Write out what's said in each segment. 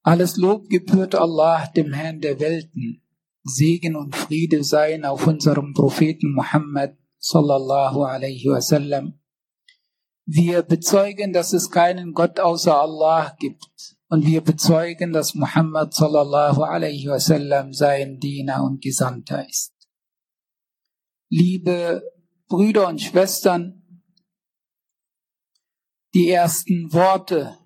Alles Lob gebührt Allah, dem Herrn der Welten. Segen und Friede seien auf unserem Propheten Muhammad sallallahu alaihi wasallam. Wir bezeugen, dass es keinen Gott außer Allah gibt. Und wir bezeugen, dass Muhammad sallallahu alaihi wasallam sein Diener und Gesandter ist. Liebe Brüder und Schwestern, die ersten Worte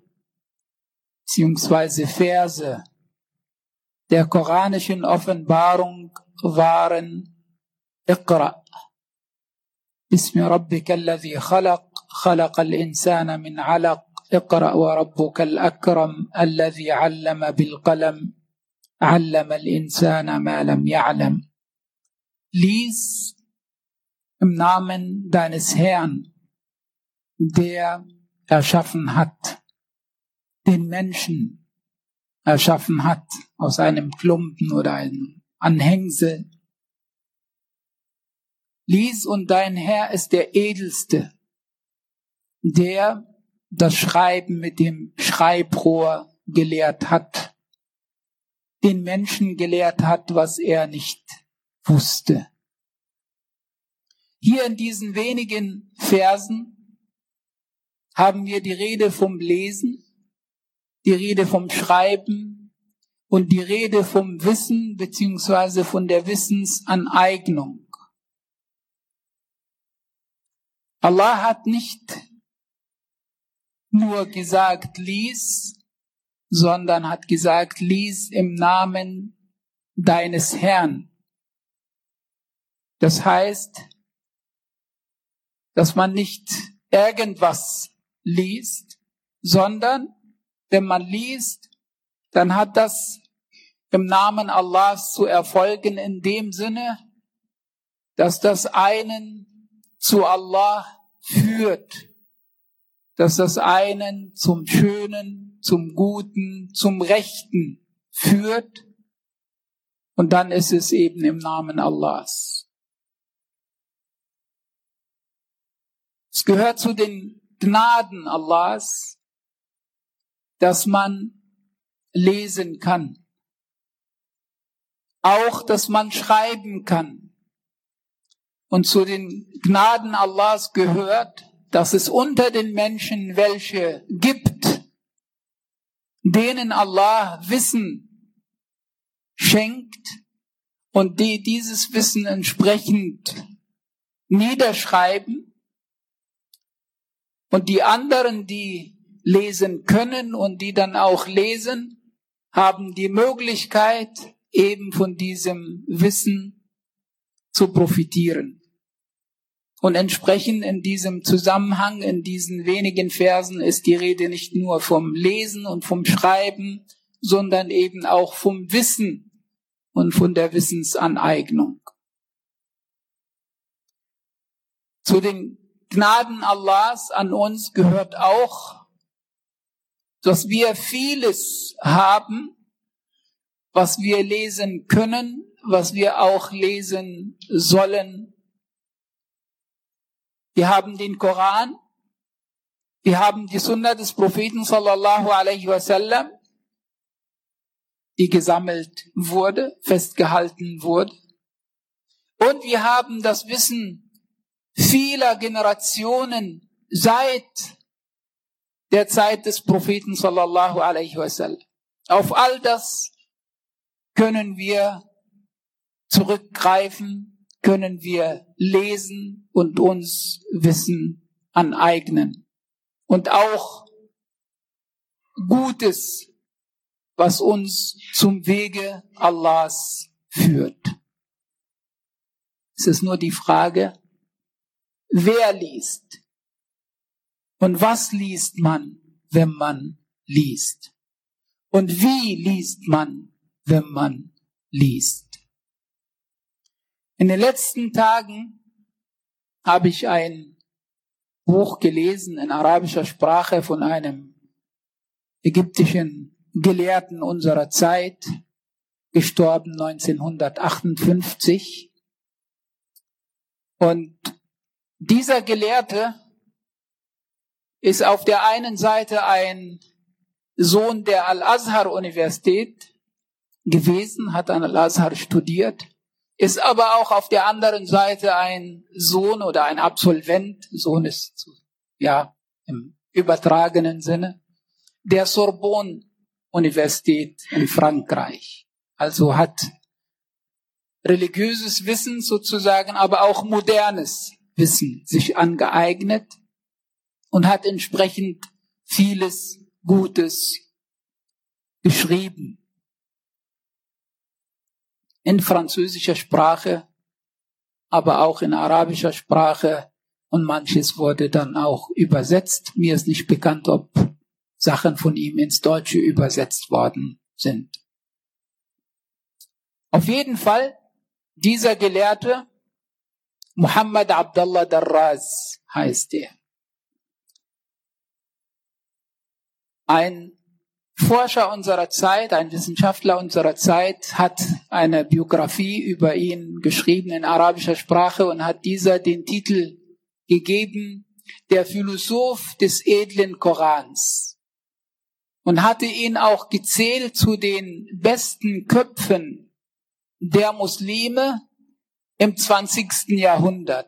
bzw. Verse der koranischen Offenbarung waren Iqra. Bismi rabbika alladhi khalaq, khalaqal insana min alaq, Iqra wa rabbukal akram, alladhi allama bil qalam, allama al insana ma lam ya'lam. Lies im Namen deines Herrn, der erschaffen hat, den Menschen erschaffen hat, aus einem Klumpen oder einem Anhängsel. Lies, und dein Herr ist der Edelste, der das Schreiben mit dem Schreibrohr gelehrt hat, den Menschen gelehrt hat, was er nicht wusste. Hier in diesen wenigen Versen haben wir die Rede vom Lesen, die Rede vom Schreiben und die Rede vom Wissen bzw. von der Wissensaneignung. Allah hat nicht nur gesagt, lies, sondern hat gesagt, lies im Namen deines Herrn. Das heißt, dass man nicht irgendwas liest, sondern wenn man liest, dann hat das im Namen Allahs zu erfolgen in dem Sinne, dass das einen zu Allah führt, dass das einen zum Schönen, zum Guten, zum Rechten führt, und dann ist es eben im Namen Allahs. Es gehört zu den Gnaden Allahs, dass man lesen kann. Auch, dass man schreiben kann. Und zu den Gnaden Allahs gehört, dass es unter den Menschen welche gibt, denen Allah Wissen schenkt und die dieses Wissen entsprechend niederschreiben, und die anderen, die lesen können und die dann auch lesen, haben die Möglichkeit, eben von diesem Wissen zu profitieren. Und entsprechend in diesem Zusammenhang, in diesen wenigen Versen, ist die Rede nicht nur vom Lesen und vom Schreiben, sondern eben auch vom Wissen und von der Wissensaneignung. Zu den Gnaden Allahs an uns gehört auch, dass wir vieles haben, was wir lesen können, was wir auch lesen sollen. Wir haben den Koran, wir haben die Sunna des Propheten sallallahu alaihi wasallam, die gesammelt wurde, festgehalten wurde. Und wir haben das Wissen vieler Generationen seit der Zeit des Propheten sallallahu alaihi wasallam. Auf all das können wir zurückgreifen, können wir lesen und uns Wissen aneignen. Und auch Gutes, was uns zum Wege Allahs führt. Es ist nur die Frage, wer liest? Und was liest man, wenn man liest? Und wie liest man, wenn man liest? In den letzten Tagen habe ich ein Buch gelesen in arabischer Sprache von einem ägyptischen Gelehrten unserer Zeit, gestorben 1958. Und dieser Gelehrte ist auf der einen Seite ein Sohn der Al-Azhar-Universität gewesen, hat an Al-Azhar studiert, ist aber auch auf der anderen Seite ein Sohn oder ein Absolvent, Sohn ist ja im übertragenen Sinne, der Sorbonne-Universität in Frankreich. Also hat religiöses Wissen sozusagen, aber auch modernes Wissen sich angeeignet und hat entsprechend vieles Gutes geschrieben. In französischer Sprache, aber auch in arabischer Sprache, und manches wurde dann auch übersetzt. Mir ist nicht bekannt, ob Sachen von ihm ins Deutsche übersetzt worden sind. Auf jeden Fall, dieser Gelehrte, Muhammad Abdallah Darraz heißt er. Ein Forscher unserer Zeit, ein Wissenschaftler unserer Zeit hat eine Biografie über ihn geschrieben in arabischer Sprache und hat dieser den Titel gegeben, der Philosoph des edlen Korans, und hatte ihn auch gezählt zu den besten Köpfen der Muslime im 20. Jahrhundert.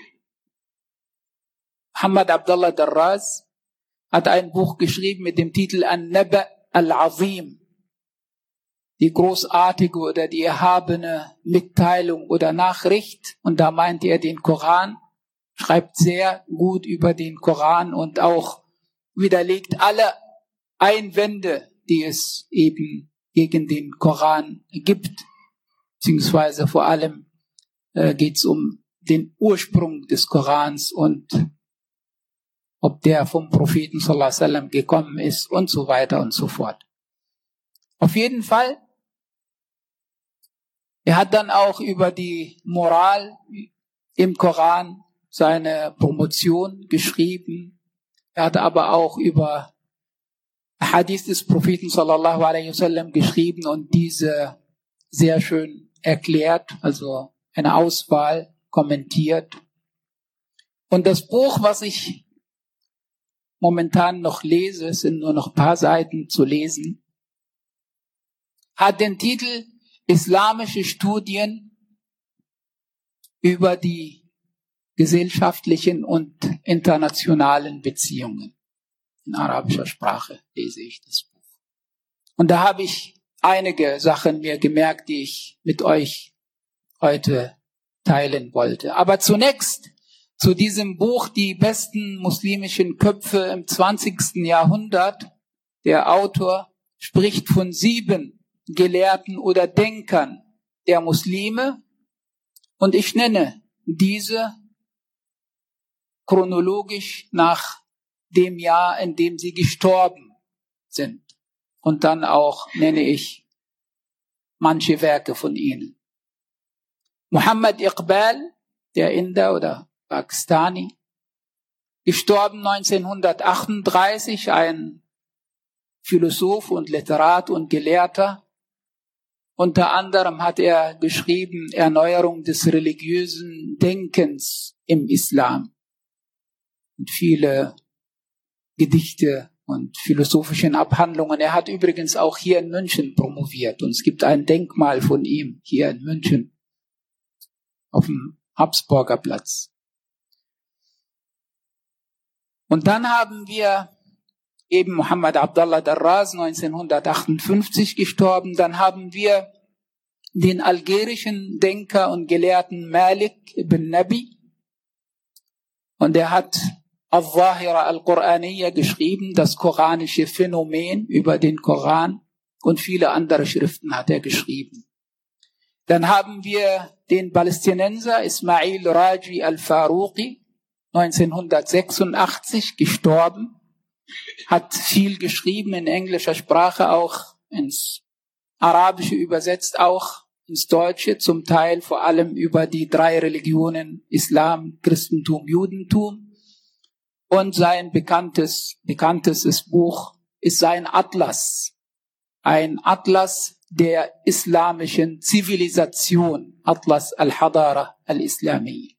Muhammad Abdallah Darraz hat ein Buch geschrieben mit dem Titel An-Naba al-Azim, die großartige oder die erhabene Mitteilung oder Nachricht. Und da meint er den Koran, schreibt sehr gut über den Koran und auch widerlegt alle Einwände, die es eben gegen den Koran gibt, beziehungsweise vor allem geht es um den Ursprung des Korans und ob der vom Propheten sallallahu alaihi wasallam gekommen ist und so weiter und so fort. Auf jeden Fall, er hat dann auch über die Moral im Koran seine Promotion geschrieben. Er hat aber auch über Hadith des Propheten sallallahu alaihi wasallam geschrieben und diese sehr schön erklärt, also eine Auswahl kommentiert. Und das Buch, was ich momentan noch lese, es sind nur noch ein paar Seiten zu lesen, hat den Titel Islamische Studien über die gesellschaftlichen und internationalen Beziehungen. In arabischer Sprache lese ich das Buch. Und da habe ich einige Sachen mir gemerkt, die ich mit euch heute teilen wollte. Aber zunächst zu diesem Buch, die besten muslimischen Köpfe im 20. Jahrhundert. Der Autor spricht von 7 Gelehrten oder Denkern der Muslime. Und ich nenne diese chronologisch nach dem Jahr, in dem sie gestorben sind. Und dann auch nenne ich manche Werke von ihnen. Muhammad Iqbal, der Inder oder Pakistani, gestorben 1938, ein Philosoph und Literat und Gelehrter. Unter anderem hat er geschrieben Erneuerung des religiösen Denkens im Islam und viele Gedichte und philosophischen Abhandlungen. Er hat übrigens auch hier in München promoviert und es gibt ein Denkmal von ihm hier in München auf dem Habsburger Platz. Und dann haben wir eben Muhammad Abdallah Darraz, 1958 gestorben. Dann haben wir den algerischen Denker und Gelehrten Malik ibn Nabi. Und er hat Al-Zahira al-Qur'aniyya geschrieben, das koranische Phänomen über den Koran, und viele andere Schriften hat er geschrieben. Dann haben wir den Palästinenser Ismail Raji al-Faruqi, 1986 gestorben, hat viel geschrieben in englischer Sprache, auch ins Arabische übersetzt, auch ins Deutsche, zum Teil vor allem über die 3 Religionen, Islam, Christentum, Judentum. Und sein bekanntestes Buch ist sein Atlas. Ein Atlas der islamischen Zivilisation. Atlas al-Hadara al-Islami.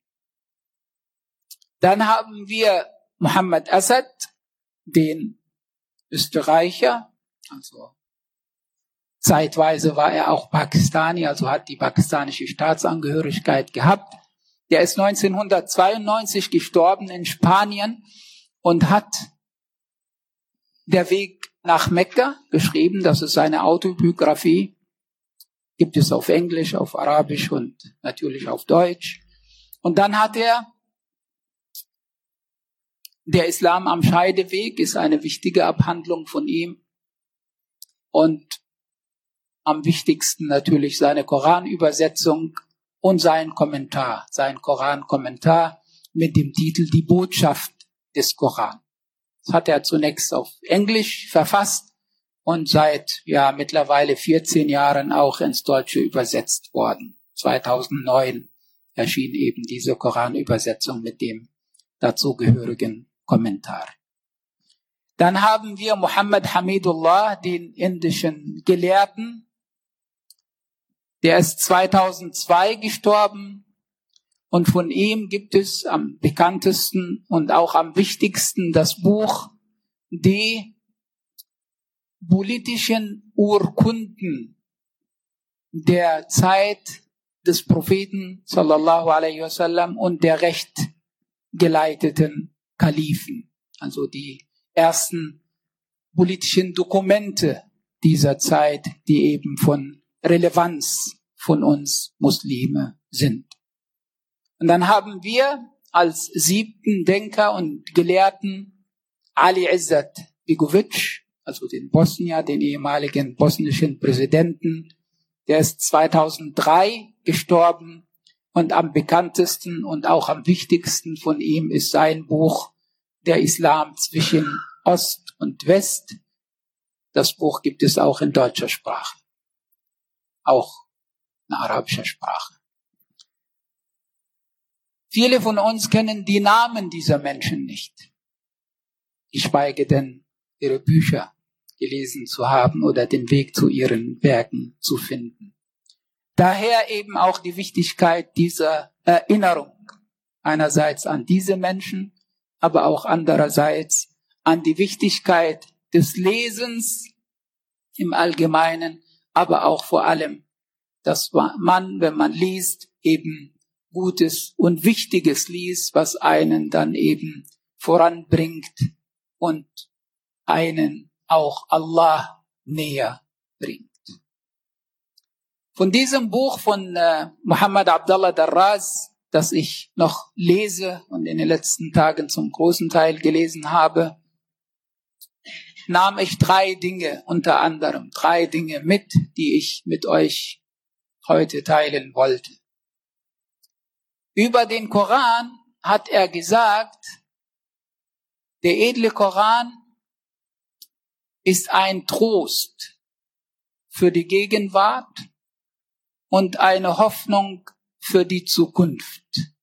Dann haben wir Muhammad Asad, den Österreicher, Also zeitweise war er auch Pakistani, also hat die pakistanische Staatsangehörigkeit gehabt. Der ist 1992 gestorben in Spanien und hat Der Weg nach Mekka geschrieben. Das ist seine Autobiografie. Gibt es auf Englisch, auf Arabisch und natürlich auf Deutsch. Und dann hat er Der Islam am Scheideweg, ist eine wichtige Abhandlung von ihm. Und am wichtigsten natürlich seine Koranübersetzung und sein Korankommentar mit dem Titel Die Botschaft des Koran. Das hat er zunächst auf Englisch verfasst und seit mittlerweile 14 Jahren auch ins Deutsche übersetzt worden. 2009 erschien eben diese Koranübersetzung mit dem dazugehörigen Kommentar. Dann haben wir Muhammad Hamidullah, den indischen Gelehrten. Der ist 2002 gestorben und von ihm gibt es am bekanntesten und auch am wichtigsten das Buch Die politischen Urkunden der Zeit des Propheten sallallahu alaihi wasallam und der rechtgeleiteten Kalifen, also die ersten politischen Dokumente dieser Zeit, die eben von Relevanz von uns Muslime sind. Und dann haben wir als 7. Denker und Gelehrten Ali Izzat Begovic, also den Bosnier, den ehemaligen bosnischen Präsidenten. Der ist 2003 gestorben und am bekanntesten und auch am wichtigsten von ihm ist sein Buch Der Islam zwischen Ost und West. Das Buch gibt es auch in deutscher Sprache, auch in arabischer Sprache. Viele von uns kennen die Namen dieser Menschen nicht, geschweige denn ihre Bücher gelesen zu haben oder den Weg zu ihren Werken zu finden. Daher eben auch die Wichtigkeit dieser Erinnerung, einerseits an diese Menschen, aber auch andererseits an die Wichtigkeit des Lesens im Allgemeinen, aber auch vor allem, dass man, wenn man liest, eben Gutes und Wichtiges liest, was einen dann eben voranbringt und einen auch Allah näher bringt. Von diesem Buch von Muhammad Abdullah Darraz, das ich noch lese und in den letzten Tagen zum großen Teil gelesen habe, nahm ich 3 Dinge, unter anderem 3 Dinge mit, die ich mit euch heute teilen wollte. Über den Koran hat er gesagt, der edle Koran ist ein Trost für die Gegenwart und eine Hoffnung für die Zukunft.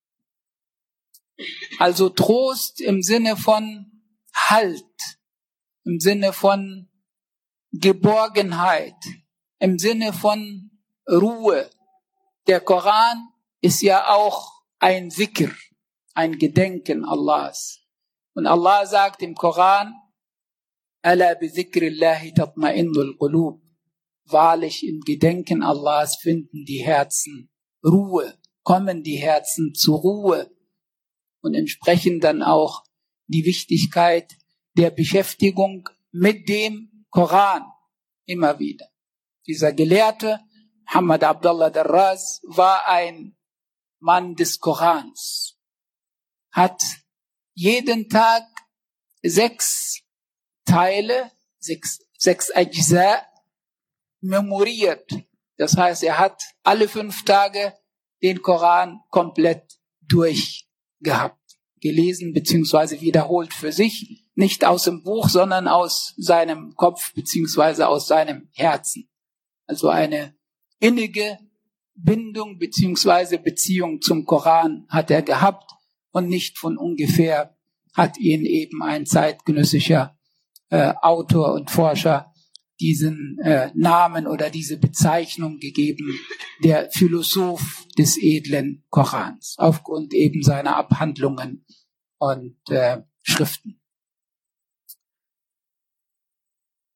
Also Trost im Sinne von Halt, im Sinne von Geborgenheit, im Sinne von Ruhe. Der Koran ist ja auch ein Zikr, ein Gedenken Allahs. Und Allah sagt im Koran, Ala bi zikrillahi tatma'innul qulub. Wahrlich im Gedenken Allahs finden die Herzen Ruhe, kommen die Herzen zur Ruhe und entsprechend dann auch die Wichtigkeit der Beschäftigung mit dem Koran immer wieder. Dieser Gelehrte, Muhammad Abdullah Darraz, war ein Mann des Korans, hat jeden Tag 6 Teile, 6 Ajza memoriert. Das heißt, er hat alle 5 Tage den Koran komplett durchgehabt, gelesen bzw. wiederholt für sich, nicht aus dem Buch, sondern aus seinem Kopf bzw. aus seinem Herzen. Also eine innige Bindung bzw. Beziehung zum Koran hat er gehabt und nicht von ungefähr hat ihn eben ein zeitgenössischer Autor und Forscher diesen Namen oder diese Bezeichnung gegeben, der Philosoph des edlen Korans, aufgrund eben seiner Abhandlungen und Schriften.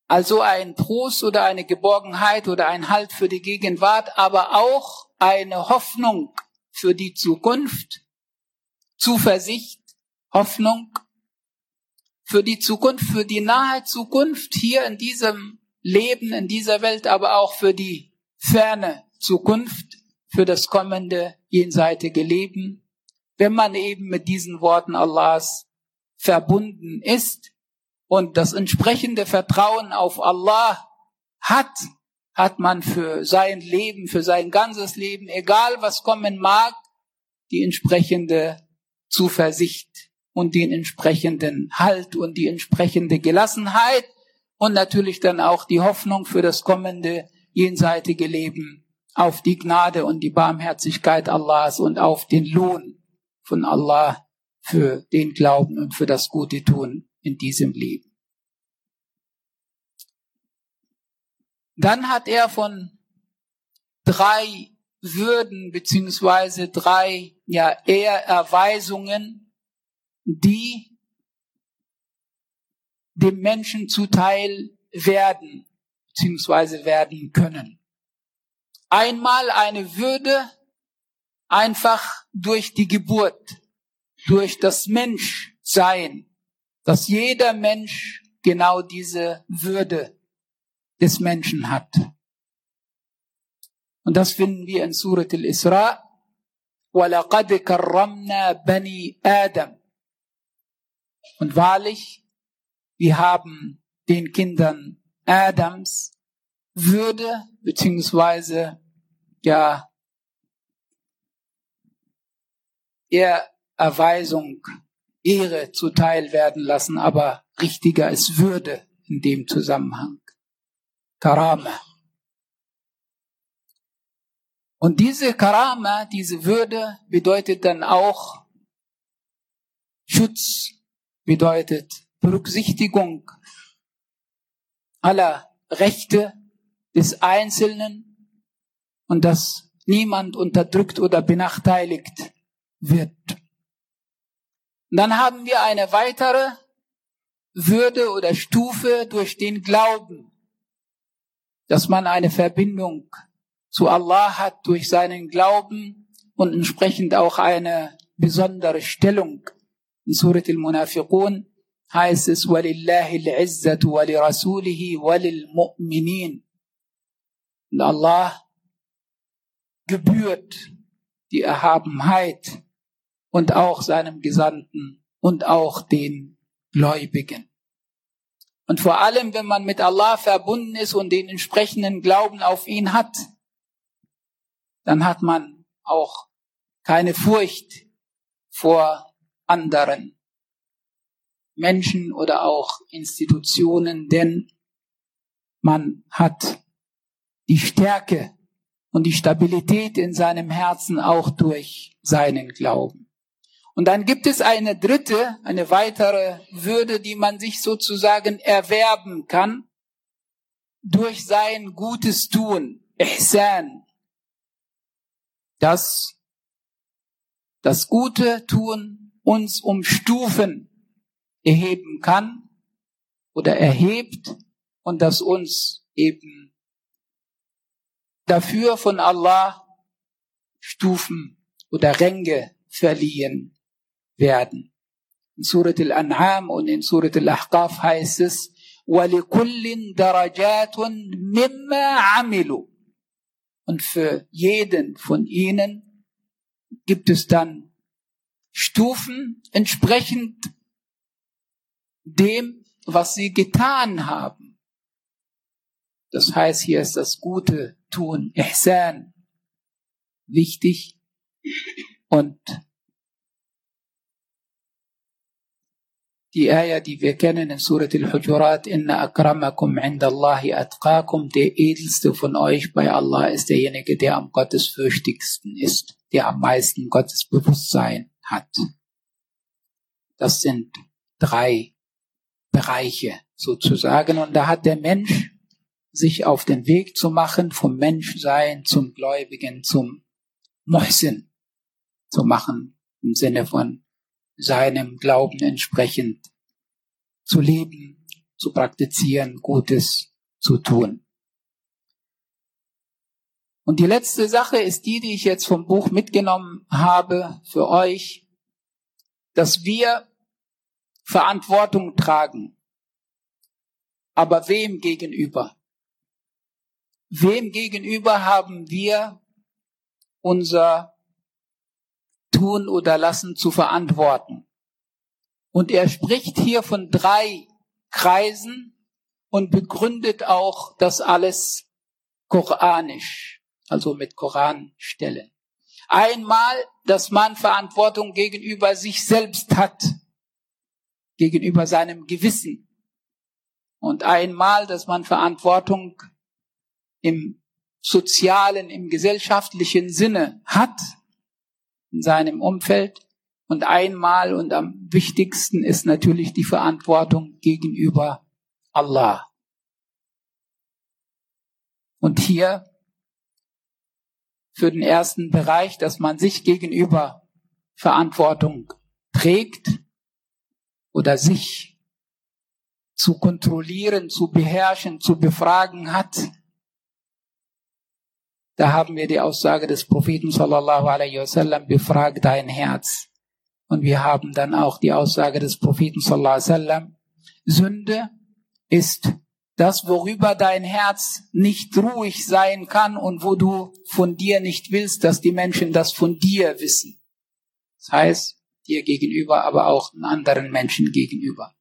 Also ein Trost oder eine Geborgenheit oder ein Halt für die Gegenwart, aber auch eine Hoffnung für die Zukunft, Zuversicht, Hoffnung für die Zukunft, für die nahe Zukunft hier in diesem Leben, in dieser Welt, aber auch für die ferne Zukunft, für das kommende jenseitige Leben, wenn man eben mit diesen Worten Allahs verbunden ist und das entsprechende Vertrauen auf Allah hat man für sein Leben, für sein ganzes Leben, egal was kommen mag, die entsprechende Zuversicht und den entsprechenden Halt und die entsprechende Gelassenheit und natürlich dann auch die Hoffnung für das kommende jenseitige Leben auf die Gnade und die Barmherzigkeit Allahs und auf den Lohn von Allah für den Glauben und für das gute Tun in diesem Leben. Dann hat er von 3 Würden beziehungsweise 3 Ehrerweisungen, die dem Menschen zuteil werden beziehungsweise werden können. Einmal eine Würde einfach durch die Geburt, durch das Menschsein, dass jeder Mensch genau diese Würde des Menschen hat. Und das finden wir in Surat al-Isra. وَلَقَدْ كَرَّمْنَا بَنِي آدَمَ. Und wahrlich, wir haben den Kindern Adams Würde beziehungsweise Ehrerweisung, Ehre zuteil werden lassen, aber richtiger ist Würde in dem Zusammenhang. Karama. Und diese Karama, diese Würde bedeutet dann auch Schutz, bedeutet Berücksichtigung aller Rechte des Einzelnen und dass niemand unterdrückt oder benachteiligt wird. Und dann haben wir eine weitere Würde oder Stufe durch den Glauben, dass man eine Verbindung zu Allah hat durch seinen Glauben und entsprechend auch eine besondere Stellung. In Surat al-Munafiqun heißt es, وَلِلَّهِ الْعِزَّةُ وَلِرَسُولِهِ وَلِلْمُؤْمِنِينَ. Und Allah gebührt die Erhabenheit und auch seinem Gesandten und auch den Gläubigen. Und vor allem, wenn man mit Allah verbunden ist und den entsprechenden Glauben auf ihn hat, dann hat man auch keine Furcht vor anderen Menschen oder auch Institutionen, denn man hat die Stärke und die Stabilität in seinem Herzen auch durch seinen Glauben. Und dann gibt es eine dritte, eine weitere Würde, die man sich sozusagen erwerben kann durch sein gutes Tun, Ihsan. Dass das gute Tun uns um Stufen erheben kann oder erhebt und das uns eben dafür von Allah Stufen oder Ränge verliehen werden. In Surat al-An'am und in Surat al-Ahqaf heißt es, وَلِكُلٍّ دَرَجَاتٌ مِمَّا عَمِلُوا. Und für jeden von ihnen gibt es dann Stufen entsprechend dem, was sie getan haben. Das heißt, hier ist das gute Tun, Ihsan, wichtig. Und die Ayah, die wir kennen in Surat al-Hujurat, Inna akramakum indallahi atqakum, der edelste von euch bei Allah ist derjenige, der am gottesfürchtigsten ist, der am meisten Gottesbewusstsein hat. Das sind 3 Bereiche sozusagen. Und da hat der Mensch sich auf den Weg zu machen, vom Menschsein zum Gläubigen, zum Muhsin zu machen, im Sinne von seinem Glauben entsprechend zu leben, zu praktizieren, Gutes zu tun. Und die letzte Sache ist die ich jetzt vom Buch mitgenommen habe für euch, dass wir Verantwortung tragen. Aber wem gegenüber? Wem gegenüber haben wir unser Tun oder Lassen zu verantworten? Und er spricht hier von 3 Kreisen und begründet auch das alles koranisch, also mit Koranstellen. Einmal, dass man Verantwortung gegenüber sich selbst hat, gegenüber seinem Gewissen. Und einmal, dass man Verantwortung im sozialen, im gesellschaftlichen Sinne hat, in seinem Umfeld. Und einmal und am wichtigsten ist natürlich die Verantwortung gegenüber Allah. Und hier für den ersten Bereich, dass man sich gegenüber Verantwortung trägt oder sich zu kontrollieren, zu beherrschen, zu befragen hat. Da haben wir die Aussage des Propheten sallallahu alaihi wasallam, befrag dein Herz. Und wir haben dann auch die Aussage des Propheten sallallahu alaihi wasallam, Sünde ist das, worüber dein Herz nicht ruhig sein kann und wo du von dir nicht willst, dass die Menschen das von dir wissen. Das heißt, dir gegenüber, aber auch anderen Menschen gegenüber.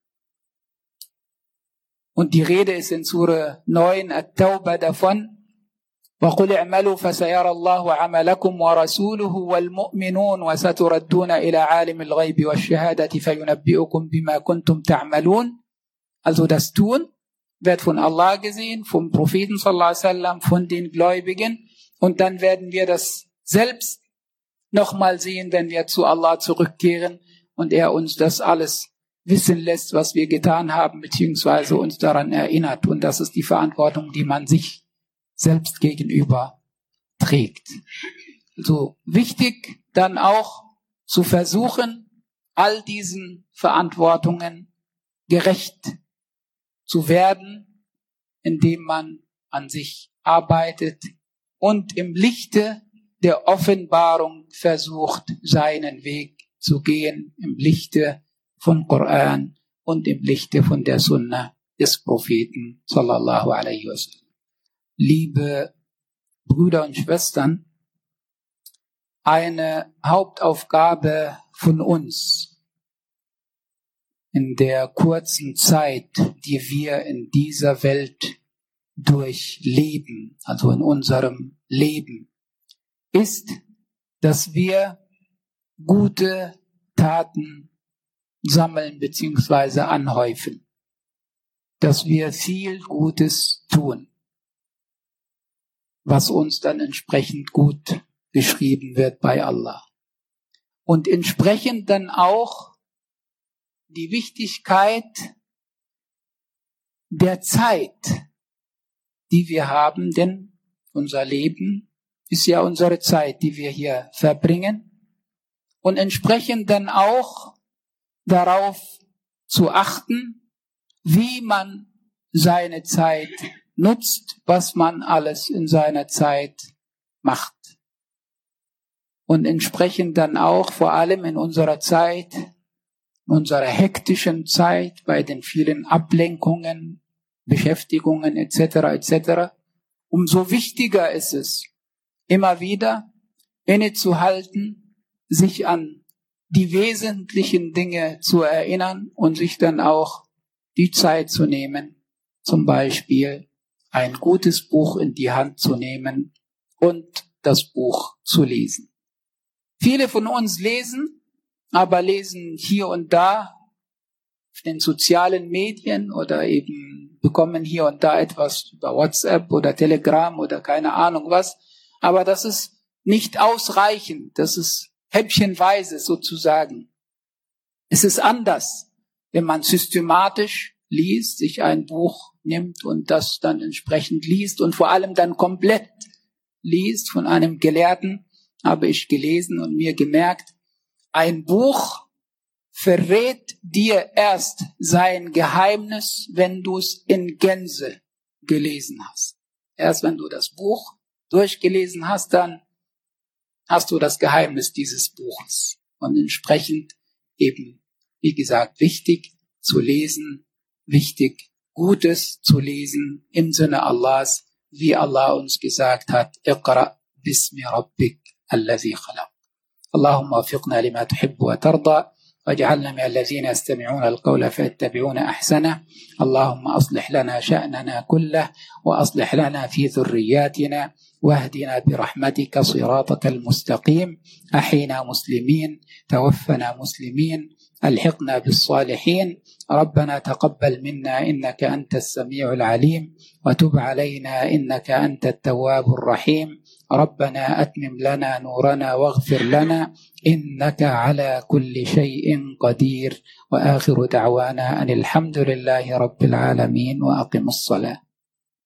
Und die Rede ist in Surah 9, At-Tawbah davon, وَقُلْ اعْمَلُوا فَسَيَرَى اللَّهُ عَمَلَكُمْ وَرَسُولُهُ وَالْمُؤْمِنُونَ وَسَتُرَدُّونَ إِلَى عَالِمِ الْغَيْبِ وَالشَّهَادَةِ فَيُنَبِّئُكُمْ بِمَا كُنْتُمْ تَعْمَلُونَ. Also das Tun wird von Allah gesehen, vom Propheten sallallahu alaihi wasallam, von den Gläubigen. Und dann werden wir das selbst nochmal sehen, wenn wir zu Allah zurückkehren und er uns das alles wissen lässt, was wir getan haben, beziehungsweise uns daran erinnert. Und das ist die Verantwortung, die man sich selbst gegenüber trägt. Also wichtig dann auch zu versuchen, all diesen Verantwortungen gerecht zu werden, indem man an sich arbeitet und im Lichte der Offenbarung versucht, seinen Weg zu gehen, im Lichte von Koran und im Lichte von der Sunna des Propheten sallallahu alaihi wasallam. Liebe Brüder und Schwestern, eine Hauptaufgabe von uns in der kurzen Zeit, die wir in dieser Welt durchleben, also in unserem Leben, ist, dass wir gute Taten sammeln bzw. anhäufen, dass wir viel Gutes tun, was uns dann entsprechend gut geschrieben wird bei Allah. Und entsprechend dann auch die Wichtigkeit der Zeit, die wir haben, denn unser Leben ist ja unsere Zeit, die wir hier verbringen. Und entsprechend dann auch darauf zu achten, wie man seine Zeit nutzt, was man alles in seiner Zeit macht. Und entsprechend dann auch vor allem in unserer Zeit, in unserer hektischen Zeit, bei den vielen Ablenkungen, Beschäftigungen etc., umso wichtiger ist es, immer wieder innezuhalten, sich an die wesentlichen Dinge zu erinnern und sich dann auch die Zeit zu nehmen, zum Beispiel ein gutes Buch in die Hand zu nehmen und das Buch zu lesen. Viele von uns lesen, aber lesen hier und da auf den sozialen Medien oder eben bekommen hier und da etwas über WhatsApp oder Telegram oder keine Ahnung was. Aber das ist nicht ausreichend. Das ist häppchenweise sozusagen. Es ist anders, wenn man systematisch liest, sich ein Buch nimmt und das dann entsprechend liest und vor allem dann komplett liest. Von einem Gelehrten habe ich gelesen und mir gemerkt, ein Buch verrät dir erst sein Geheimnis, wenn du es in Gänze gelesen hast. Erst wenn du das Buch durchgelesen hast, dann hast du das Geheimnis dieses Buches. Und entsprechend eben, wie gesagt, wichtig zu lesen, wichtig Gutes zu lesen im Sinne Allahs, wie Allah uns gesagt hat, Iqra bismi rabbik alladhi khalaq. Allahumma wafiqna lima tuhibbu wa tarda. واجعلنا من الذين يستمعون القول فيتبعون أحسنه. اللهم أصلح لنا شأننا كله وأصلح لنا في ذرياتنا واهدنا برحمتك صراطك المستقيم. أحينا مسلمين، توفنا مسلمين، ألحقنا بالصالحين. ربنا تقبل منا إنك أنت السميع العليم، وتب علينا إنك أنت التواب الرحيم. ربنا أتمم لنا نورنا واغفر لنا إنك على كل شيء قدير. وآخر دعوانا أن الحمد لله رب العالمين، وأقم الصلاة.